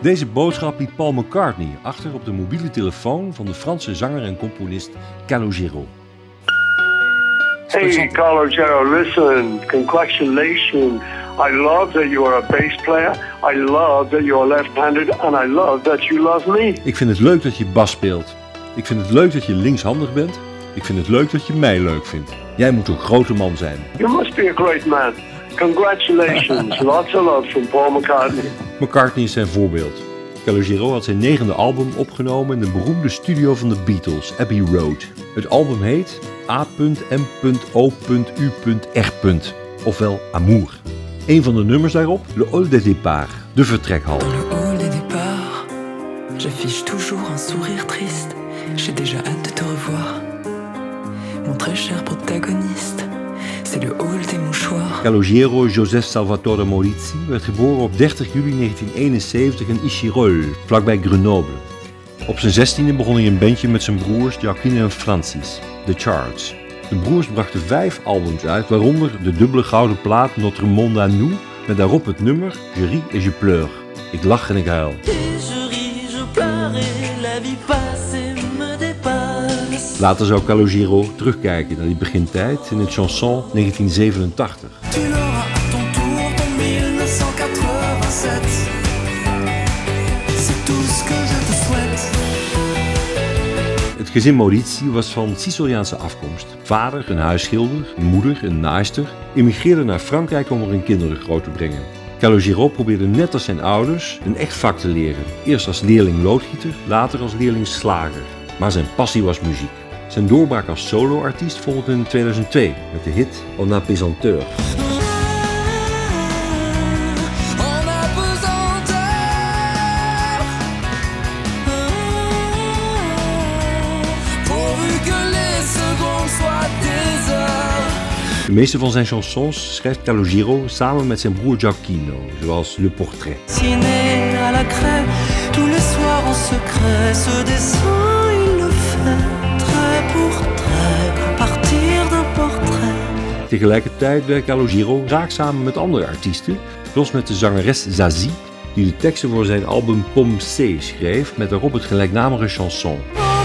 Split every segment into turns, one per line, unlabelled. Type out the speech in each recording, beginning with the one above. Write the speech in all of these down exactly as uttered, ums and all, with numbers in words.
Deze boodschap liet Paul McCartney achter op de mobiele telefoon van de Franse zanger en componist Calogero.
Hey Calogero, listen, congratulations. I love that you are a bass player. I love that you are left-handed and I love that you love me.
Ik vind het leuk dat je bas speelt. Ik vind het leuk dat je linkshandig bent. Ik vind het leuk dat je mij leuk vindt. Jij moet een grote man zijn.
You must be a great man. Congratulations. Lots of love from Paul McCartney.
McCartney is zijn voorbeeld. Calogero had zijn negende album opgenomen in de beroemde studio van de Beatles, Abbey Road. Het album heet A M O U R. Ofwel Amour. Een van de nummers daarop, Le Hall des Départs, de vertrekhal.
Dans le hall des départs, j'affiche toujours un sourire triste. J'ai déjà hâte de te revoir. Mon très cher protagoniste, c'est le hall des mouchoirs.
Calogero Joseph Salvatore Maurizzi werd geboren op dertig juli negentien eenenzeventig in Échirolles, vlakbij Grenoble. Op zijn zestiende begon hij een bandje met zijn broers Joaquin en Francis, The Charts. De broers brachten vijf albums uit, waaronder de dubbele gouden plaat Notre Monde à Nous, met daarop het nummer Je ris et je pleure. Ik lach en ik huil. Later zou Calogero terugkijken naar die begintijd in het chanson negentien zevenentachtig. Het gezin Maurizzi was van Siciliaanse afkomst. Vader een huisschilder, moeder een naaister, immigreerde naar Frankrijk om er hun kinderen groot te brengen. Calogero probeerde net als zijn ouders een echt vak te leren. Eerst als leerling loodgieter, later als leerling slager. Maar zijn passie was muziek. Zijn doorbraak als solo-artiest volgde in tweeduizend twee met de hit On Apesanteur. De meeste van zijn chansons schrijft Calogero samen met zijn broer Gioacchino, zoals Le Portrait.
Ciné à la craie, tous les soirs en secret, ce dessin il le fait, trait pour trait, à partir d'un portrait.
Tegelijkertijd werkt Calogero vaak samen met andere artiesten, zoals met de zangeres Zazie, die de teksten voor zijn album Pomme C schreef, met daarop het gelijknamige chanson.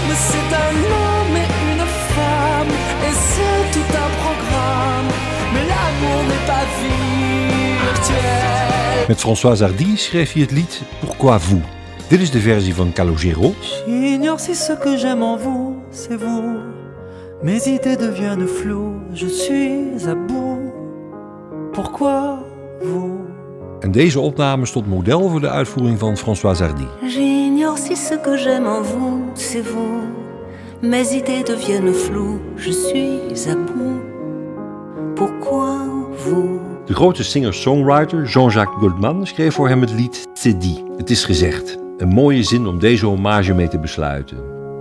Met Françoise Hardy schreef hij het lied Pourquoi vous? Dit is de versie van Calogero.
J'ignore si ce que j'aime en vous, c'est vous. Mes idées deviennent floues, je suis à bout. Pourquoi vous?
En deze opname stond model voor de uitvoering van Françoise Hardy.
J'ignore si ce que j'aime en vous, c'est vous. Mes idées deviennent floues, je suis à bout. Pourquoi vous?
De grote singer-songwriter Jean-Jacques Goldman schreef voor hem het lied C'est dit. Het is gezegd. Een mooie zin om deze hommage mee te besluiten.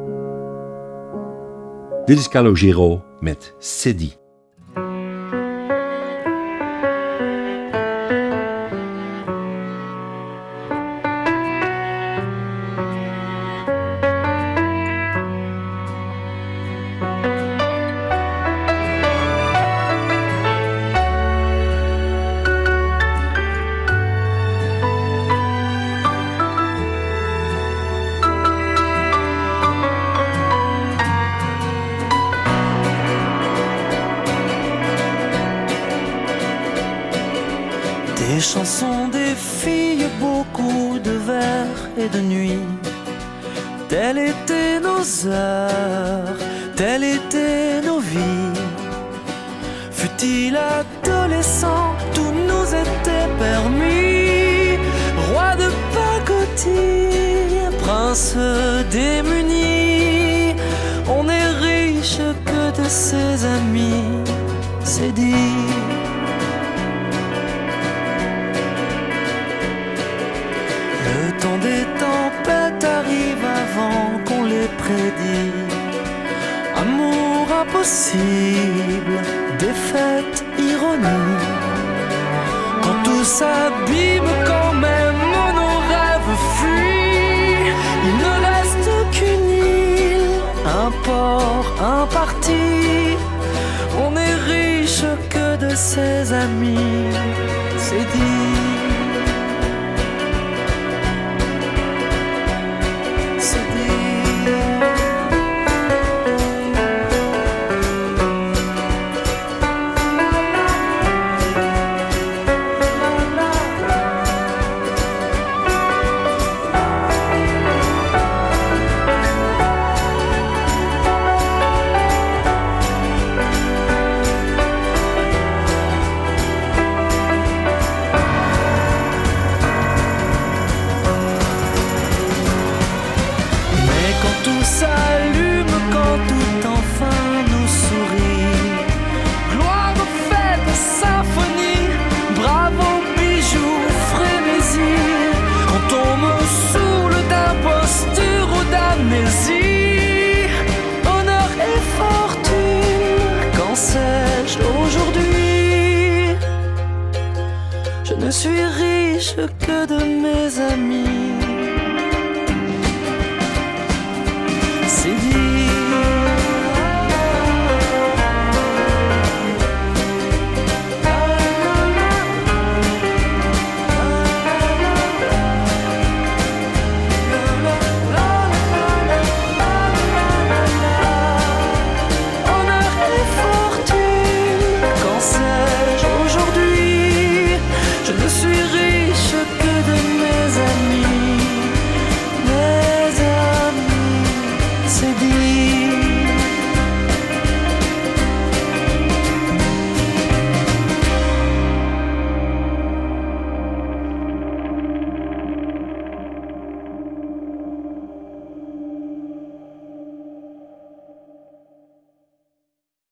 Dit is Calogero met C'est dit.
Des chansons, des filles, beaucoup de vers et de nuit. Telles étaient nos heures, telles étaient nos vies. Fut-il adolescent, tout nous était permis. Roi de pacotille, prince démuni. On est riche que de ses amis, c'est dit. Le temps des tempêtes arrive avant qu'on les prédit. Amour impossible, défaite, ironie. Quand tout s'abîme, quand même nos rêves fuient. Il ne reste qu'une île, un port, un parti. On est riche que de ses amis, c'est dit. ne suis riche que de mes amis.